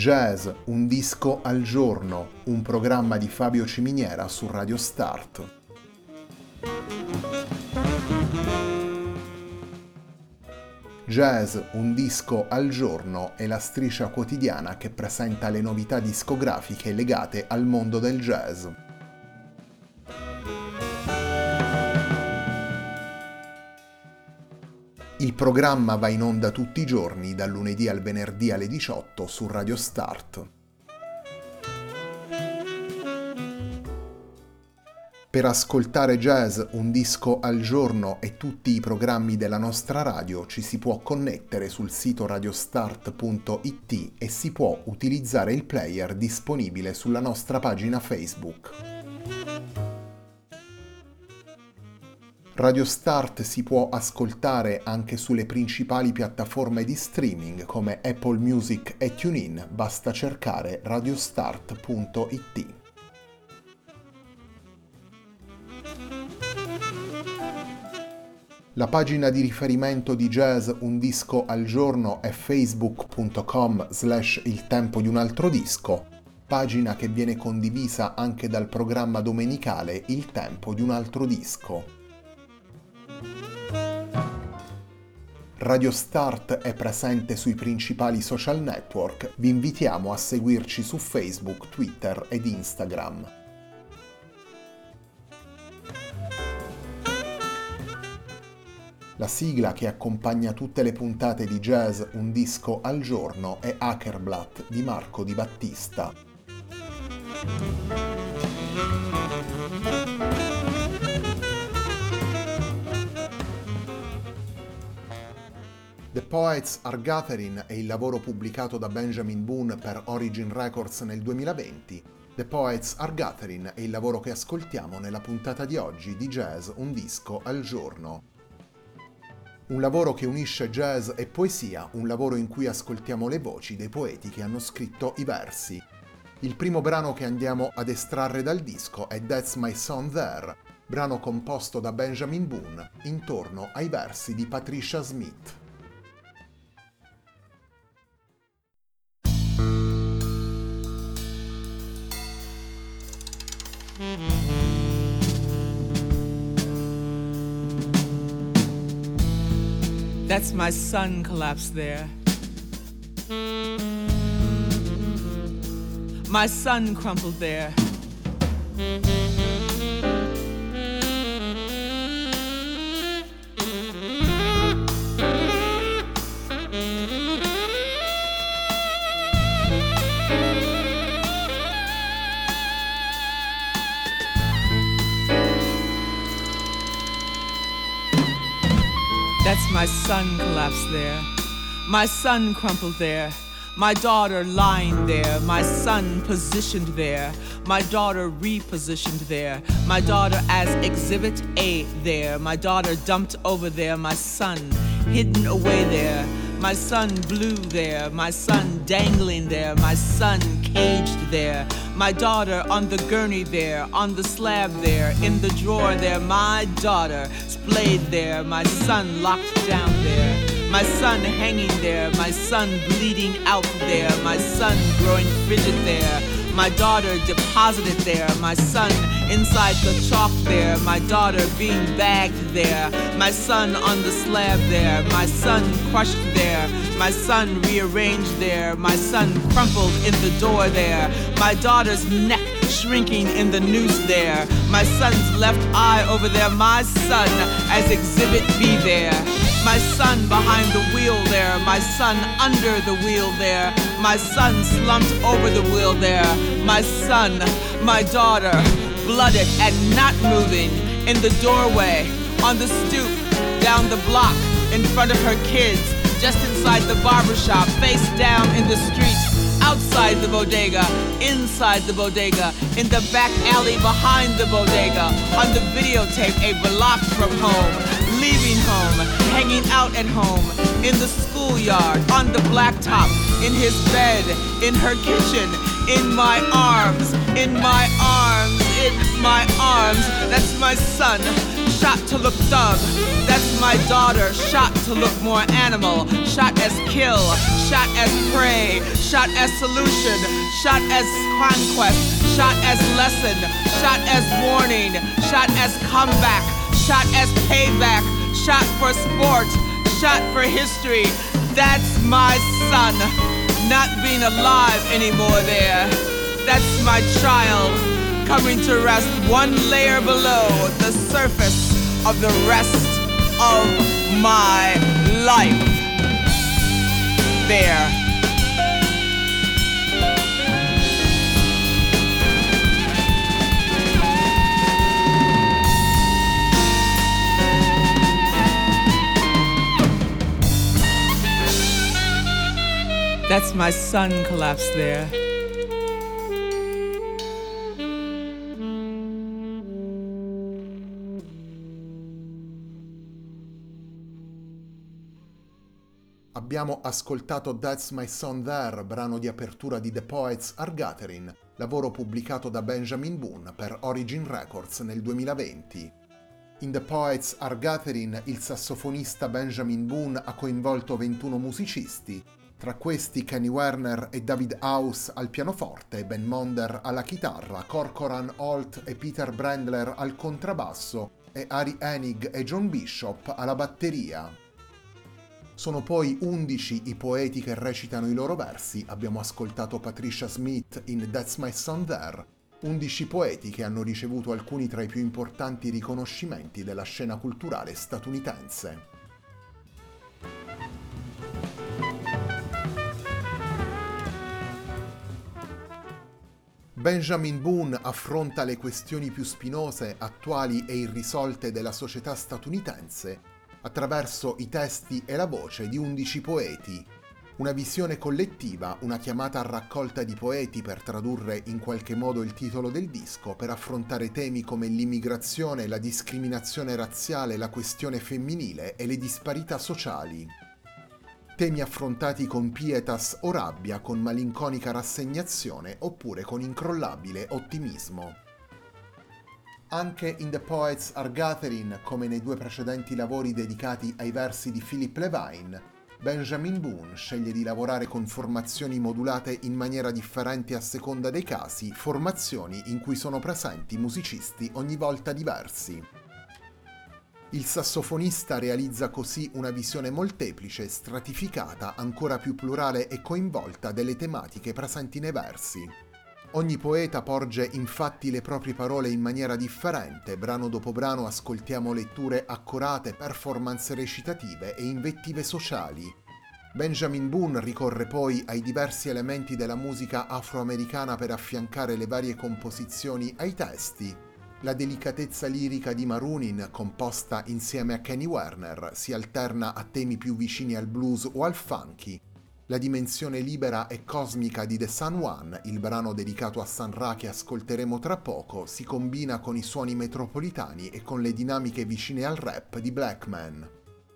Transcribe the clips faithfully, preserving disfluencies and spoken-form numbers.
Jazz, un disco al giorno, un programma di Fabio Ciminiera su Radio Start. Jazz, un disco al giorno è la striscia quotidiana che presenta le novità discografiche legate al mondo del jazz. Il programma va in onda tutti i giorni, dal lunedì al venerdì alle diciotto su Radio Start. Per ascoltare Jazz, un disco al giorno e tutti i programmi della nostra radio ci si può connettere sul sito radiostart punto it e si può utilizzare il player disponibile sulla nostra pagina Facebook. Radio Start si può ascoltare anche sulle principali piattaforme di streaming come Apple Music e TuneIn, basta cercare radiostart punto it. La pagina di riferimento di Jazz, un disco al giorno è facebook punto com slash il tempo di un altro disco, pagina che viene condivisa anche dal programma domenicale Il tempo di un altro disco. Radio Start è presente sui principali social network, vi invitiamo a seguirci su Facebook, Twitter ed Instagram. La sigla che accompagna tutte le puntate di Jazz, un disco al giorno è Hackerblatt di Marco Di Battista. The Poets Are Gathering è il lavoro pubblicato da Benjamin Boone per Origin Records nel duemilaventi. The Poets Are Gathering è il lavoro che ascoltiamo nella puntata di oggi di Jazz, un disco al giorno. Un lavoro che unisce jazz e poesia, un lavoro in cui ascoltiamo le voci dei poeti che hanno scritto i versi. Il primo brano che andiamo ad estrarre dal disco è That's My Son There, brano composto da Benjamin Boone intorno ai versi di Patricia Smith. That's my son collapsed there. My son crumpled there. That's my son collapsed there. My son crumpled there. My daughter lying there. My son positioned there. My daughter repositioned there. My daughter as exhibit A there. My daughter dumped over there. My son hidden away there. My son blue there. My son dangling there. My son caged there. My daughter on the gurney there, on the slab there, in the drawer there. My daughter splayed there, my son locked down there. My son hanging there, my son bleeding out there. My son growing frigid there. My daughter deposited there, my son inside the chalk there. My daughter being bagged there. My son on the slab there. My son crushed there. My son rearranged there. My son crumpled in the door there. My daughter's neck shrinking in the noose there. My son's left eye over there. My son as exhibit B there. My son behind the wheel there. My son under the wheel there. My son slumped over the wheel there. My son, my daughter, blooded and not moving in the doorway, on the stoop, down the block, in front of her kids, just inside the barbershop, face down in the street, outside the bodega, inside the bodega, in the back alley behind the bodega, on the videotape a block from home, leaving home, hanging out at home, in the schoolyard, on the blacktop, in his bed, in her kitchen, in my arms, in my arms, in my arms. That's my son, shot to look thug. That's my daughter, shot to look more animal. Shot as kill, shot as prey, shot as solution, shot as conquest, shot as lesson, shot as warning, shot as comeback, shot as payback, shot for sport, shot for history. That's my son, not being alive anymore there. That's my child, coming to rest one layer below the surface of the rest of my life. There. That's my son collapsed there. Abbiamo ascoltato That's My Son There, brano di apertura di The Poets Are Gathering, lavoro pubblicato da Benjamin Boone per Origin Records nel duemilaventi. In The Poets Are Gathering il sassofonista Benjamin Boone ha coinvolto ventuno musicisti, tra questi Kenny Werner e David House al pianoforte, Ben Monder alla chitarra, Corcoran Holt e Peter Brandler al contrabbasso e Ari Enig e John Bishop alla batteria. Sono poi undici i poeti che recitano i loro versi, abbiamo ascoltato Patricia Smith in That's My Son There, undici poeti che hanno ricevuto alcuni tra i più importanti riconoscimenti della scena culturale statunitense. Benjamin Boone affronta le questioni più spinose, attuali e irrisolte della società statunitense attraverso i testi e la voce di undici poeti. Una visione collettiva, una chiamata a raccolta di poeti per tradurre in qualche modo il titolo del disco, per affrontare temi come l'immigrazione, la discriminazione razziale, la questione femminile e le disparità sociali. Temi affrontati con pietas o rabbia, con malinconica rassegnazione oppure con incrollabile ottimismo. Anche in The Poets Are Gathering, come nei due precedenti lavori dedicati ai versi di Philip Levine, Benjamin Boone sceglie di lavorare con formazioni modulate in maniera differente a seconda dei casi, formazioni in cui sono presenti musicisti ogni volta diversi. Il sassofonista realizza così una visione molteplice, stratificata, ancora più plurale e coinvolta delle tematiche presenti nei versi. Ogni poeta porge infatti le proprie parole in maniera differente, brano dopo brano ascoltiamo letture accurate, performance recitative e invettive sociali. Benjamin Boone ricorre poi ai diversi elementi della musica afroamericana per affiancare le varie composizioni ai testi. La delicatezza lirica di Marunin, composta insieme a Kenny Werner, si alterna a temi più vicini al blues o al funky. La dimensione libera e cosmica di The San Juan, il brano dedicato a Sun Ra che ascolteremo tra poco, si combina con i suoni metropolitani e con le dinamiche vicine al rap di Black Man.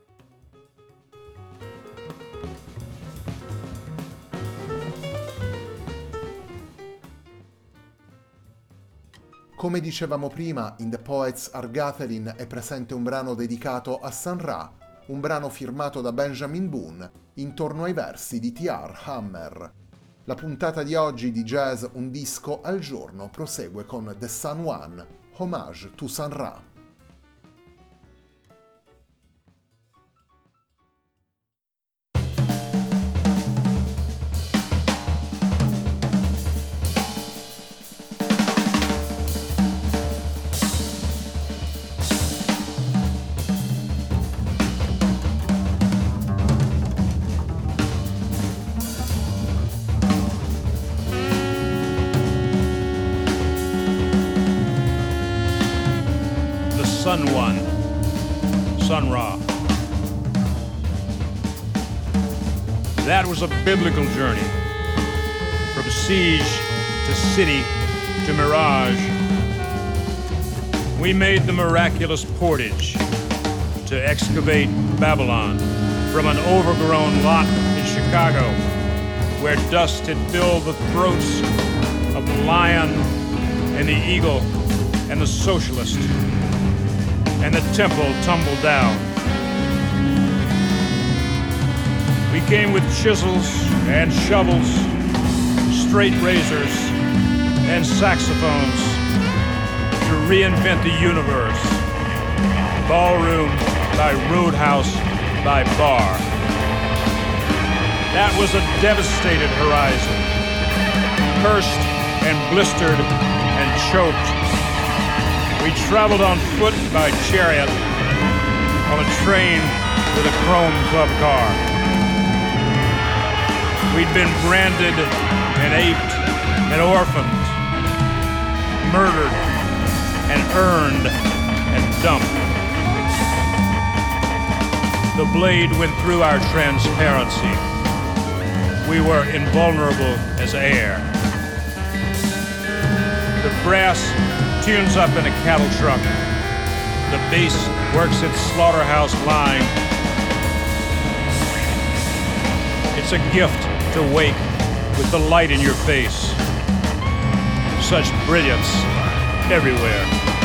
Come dicevamo prima, in The Poets Are Gathering è presente un brano dedicato a Sun Ra, un brano firmato da Benjamin Boone, intorno ai versi di T R Hammer. La puntata di oggi di Jazz Un Disco al Giorno prosegue con The San Juan, Homage to Sun Ra. Sun One, Sun Ra. That was a biblical journey, from siege to city to mirage. We made the miraculous portage to excavate Babylon from an overgrown lot in Chicago, where dust had filled the throats of the lion and the eagle and the socialist. and the temple tumbled down. We came with chisels and shovels, straight razors, and saxophones to reinvent the universe, ballroom by roadhouse by bar. That was a devastated horizon, cursed and blistered and choked. We traveled on foot by chariot, on a train with a chrome club car. We'd been branded and aped and orphaned, murdered and earned and dumped. The blade went through our transparency. We were invulnerable as air. The brass tunes up in a cattle truck. The bass works its slaughterhouse line. It's a gift to wake with the light in your face. Such brilliance everywhere.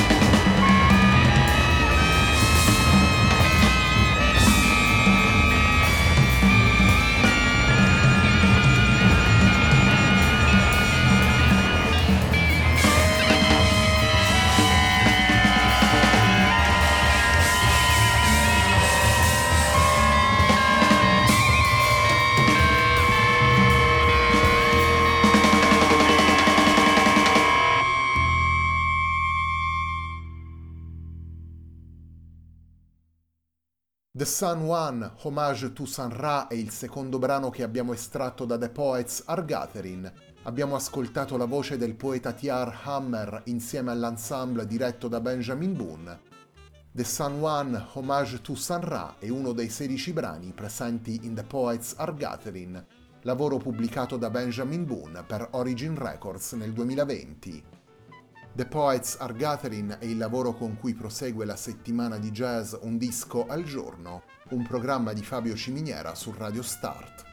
The Sun One, Homage to Sun Ra, è il secondo brano che abbiamo estratto da The Poets Are Gathering. Abbiamo ascoltato la voce del poeta T R Hammer insieme all'ensemble diretto da Benjamin Boone. The Sun One, Homage to Sun Ra è uno dei sedici brani presenti in The Poets Are Gathering, lavoro pubblicato da Benjamin Boone per Origin Records nel duemilaventi. The Poets Are Gathering è il lavoro con cui prosegue la settimana di jazz Un disco al giorno, un programma di Fabio Ciminiera su Radio Start.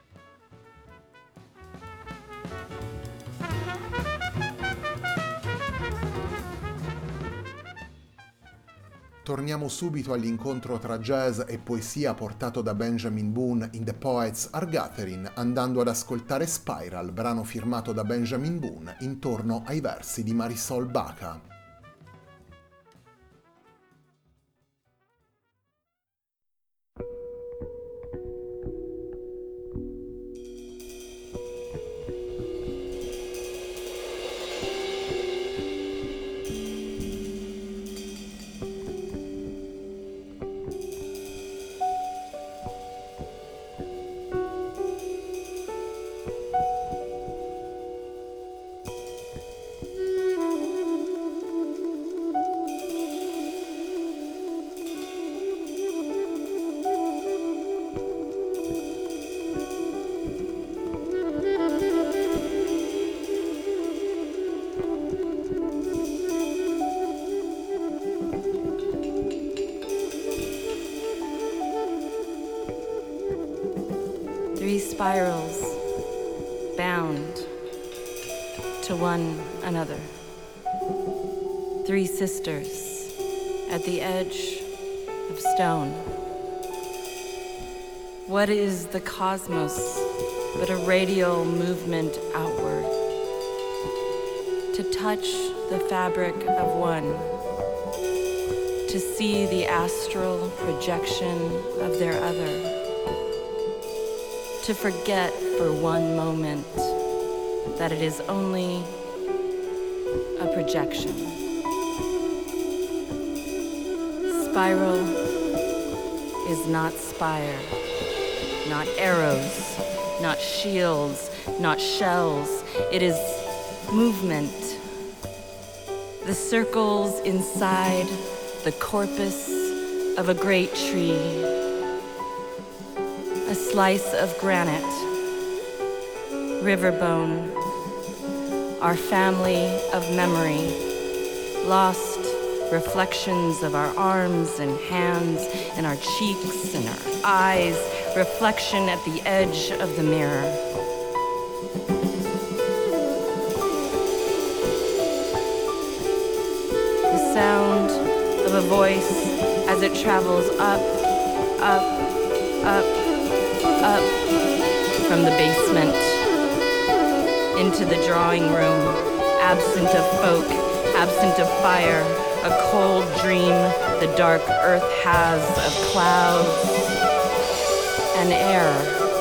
Torniamo subito all'incontro tra jazz e poesia portato da Benjamin Boone in The Poets Are Gathering, andando ad ascoltare Spiral, brano firmato da Benjamin Boone intorno ai versi di Marisol Baca. Three spirals bound to one another. Three sisters at the edge of stone. What is the cosmos but a radial movement outward? To touch the fabric of one, to see the astral projection of their other. To forget for one moment that it is only a projection. Spiral is not spire, not arrows, not shields, not shells. It is movement. The circles inside the corpus of a great tree. A slice of granite, riverbone, our family of memory, lost reflections of our arms and hands and our cheeks and our eyes, reflection at the edge of the mirror. The sound of of a voice as it travels up, up, up, up from the basement into the drawing room, absent of folk, absent of fire, a cold dream the dark earth has of clouds and air.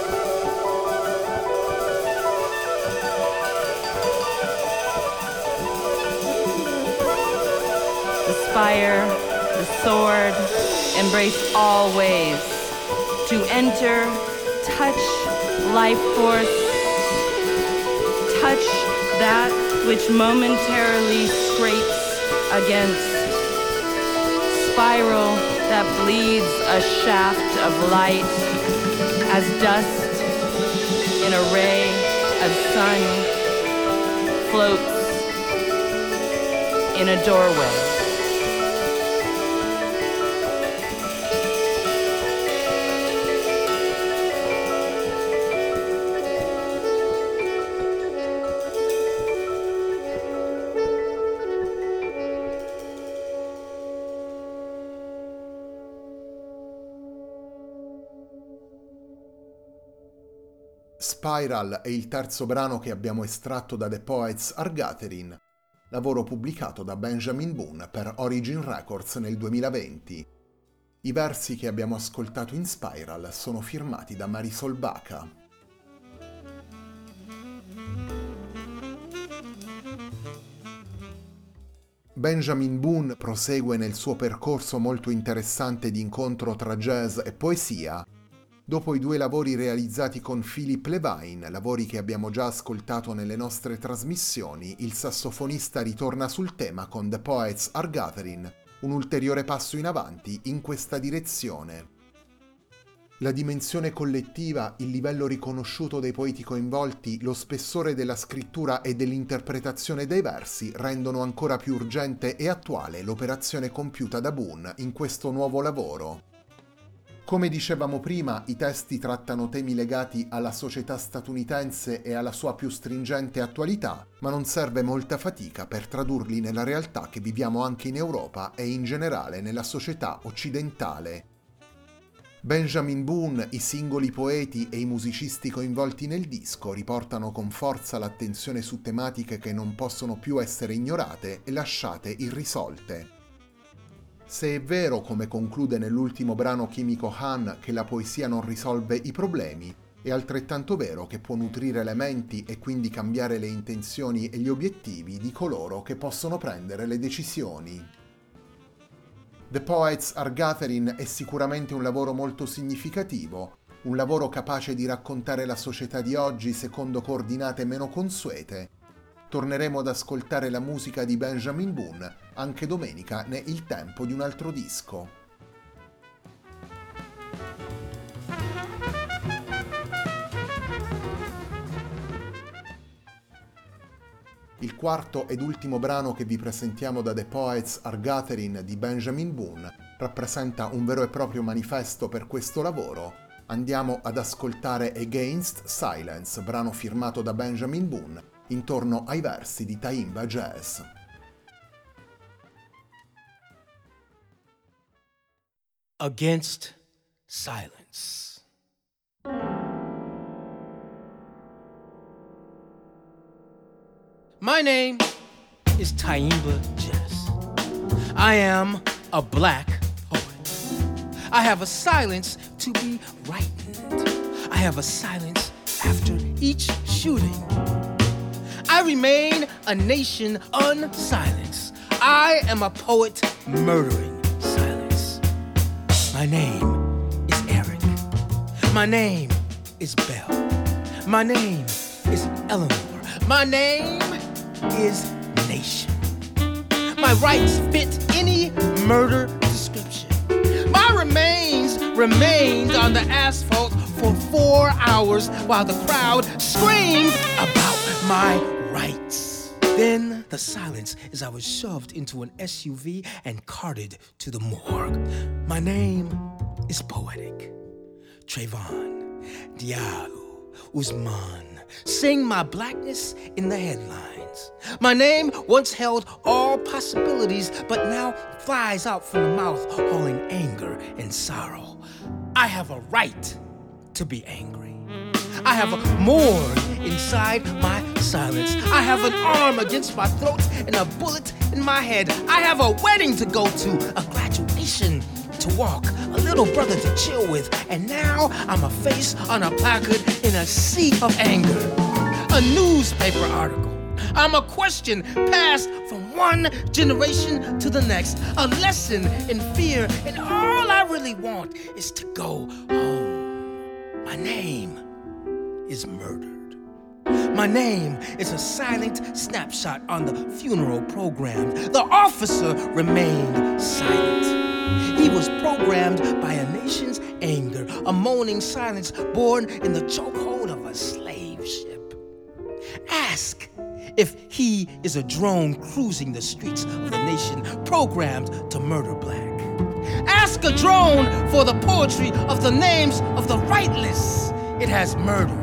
The spire, the sword, embrace all ways. To enter, touch life force, touch that which momentarily scrapes against, spiral that bleeds a shaft of light as dust in a ray of sun floats in a doorway. Spiral è il terzo brano che abbiamo estratto da The Poets Are Gathering, lavoro pubblicato da Benjamin Boone per Origin Records nel duemilaventi. I versi che abbiamo ascoltato in Spiral sono firmati da Marisol Baca. Benjamin Boone prosegue nel suo percorso molto interessante di incontro tra jazz e poesia. Dopo i due lavori realizzati con Philip Levine, lavori che abbiamo già ascoltato nelle nostre trasmissioni, il sassofonista ritorna sul tema con The Poets Are Gathering, un ulteriore passo in avanti in questa direzione. La dimensione collettiva, il livello riconosciuto dei poeti coinvolti, lo spessore della scrittura e dell'interpretazione dei versi rendono ancora più urgente e attuale l'operazione compiuta da Boone in questo nuovo lavoro. Come dicevamo prima, i testi trattano temi legati alla società statunitense e alla sua più stringente attualità, ma non serve molta fatica per tradurli nella realtà che viviamo anche in Europa e in generale nella società occidentale. Benjamin Boone, i singoli poeti e i musicisti coinvolti nel disco riportano con forza l'attenzione su tematiche che non possono più essere ignorate e lasciate irrisolte. Se è vero, come conclude nell'ultimo brano Kimiko Han, che la poesia non risolve i problemi, è altrettanto vero che può nutrire le menti e quindi cambiare le intenzioni e gli obiettivi di coloro che possono prendere le decisioni. The Poets Are Gathering è sicuramente un lavoro molto significativo, un lavoro capace di raccontare la società di oggi secondo coordinate meno consuete. Torneremo ad ascoltare la musica di Benjamin Boone anche domenica ne Il tempo di un altro disco. Il quarto ed ultimo brano che vi presentiamo da The Poets Are Gathering di Benjamin Boone rappresenta un vero e proprio manifesto per questo lavoro. Andiamo ad ascoltare Against Silence, brano firmato da Benjamin Boone, intorno ai versi di Taimba Jazz. Against Silence. My name is Taimba Jazz. I am a black poet. I have a silence to be ripened. I have a silence after each shooting. I remain a nation unsilenced. I am a poet murdering silence. My name is Eric. My name is Belle. My name is Eleanor. My name is Nation. My rights fit any murder description. My remains remained on the asphalt for four hours while the crowd screamed about my rights. Then the silence as I was shoved into an S U V and carted to the morgue. My name is poetic. Trayvon, Diallo, Usman, sing my blackness in the headlines. silence. My name once held all possibilities, but now flies out from the mouth, hauling anger and sorrow. I have a right to be angry. I have a morgue inside my silence. I have an arm against my throat and a bullet in my head. I have a wedding to go to, a graduation to walk, a little brother to chill with, and now I'm a face on a placard in a sea of anger. A newspaper article. I'm a question passed from one generation to the next. A lesson in fear, and all I really want is to go home. My name is murdered. My name is a silent snapshot on the funeral program. The officer remained silent. He was programmed by a nation's anger, a moaning silence born in the chokehold of a slave ship. Ask if he is a drone cruising the streets of the nation programmed to murder black. Ask a drone for the poetry of the names of the rightless it has murdered.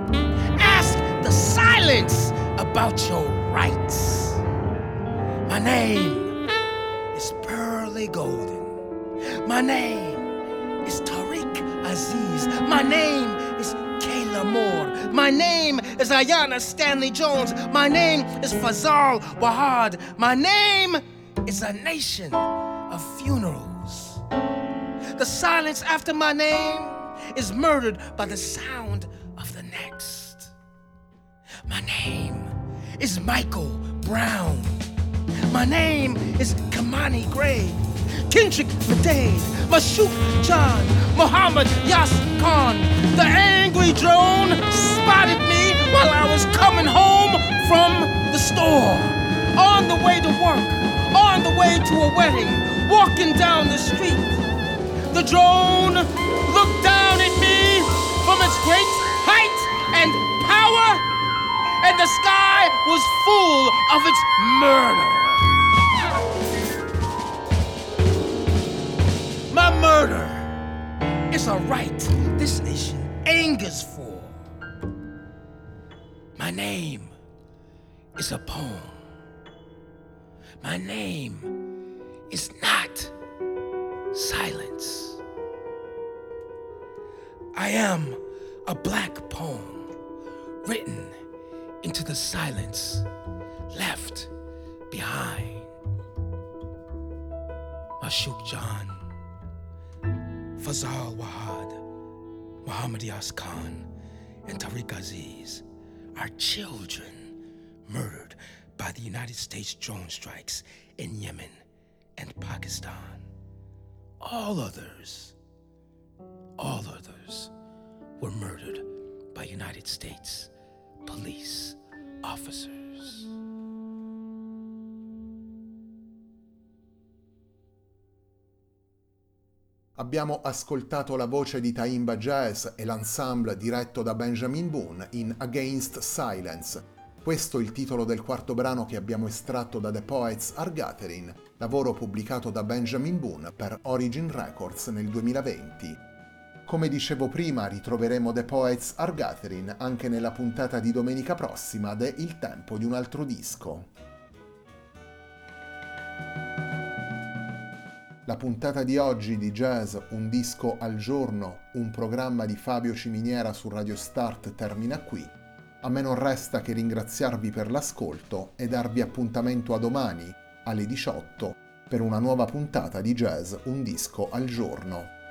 Ask the silence about your rights. My name is Pearly Golden. My name is Tariq Aziz. My name is Kayla Moore. My name is Ayanna Stanley Jones. My name is Fazal Wahad. My name is a nation of funerals. The silence after my name is murdered by the sound of the next. My name is Michael Brown. My name is Kamani Gray. Kendrick Fadade, Mashouk John, Muhammad Yas Khan. The angry drone spotted me while I was coming home from the store. On the way to work, on the way to a wedding, walking down the street. The drone looked down at me from its great height and power, and the sky was full of its murder. My murder is a right this nation angers for. My name is a poem. My name is not silence. I am a black poem written into the silence left behind. Mashouk John, Fazal Wahad, Muhammad Yas Khan, and Tariq Aziz are children murdered by the United States drone strikes in Yemen and Pakistan. All others, all others were murdered by United States police officers. Abbiamo ascoltato la voce di Taimba Jazz e l'ensemble diretto da Benjamin Boone in Against Silence. Questo è il titolo del quarto brano che abbiamo estratto da The Poets Are Gathering, lavoro pubblicato da Benjamin Boone per Origin Records nel duemilaventi. Come dicevo prima, ritroveremo The Poets Are Gathering anche nella puntata di domenica prossima de Il tempo di un altro disco. La puntata di oggi di Jazz, un disco al giorno, un programma di Fabio Ciminiera su Radio Start termina qui. A me non resta che ringraziarvi per l'ascolto e darvi appuntamento a domani alle diciotto per una nuova puntata di Jazz, un disco al giorno.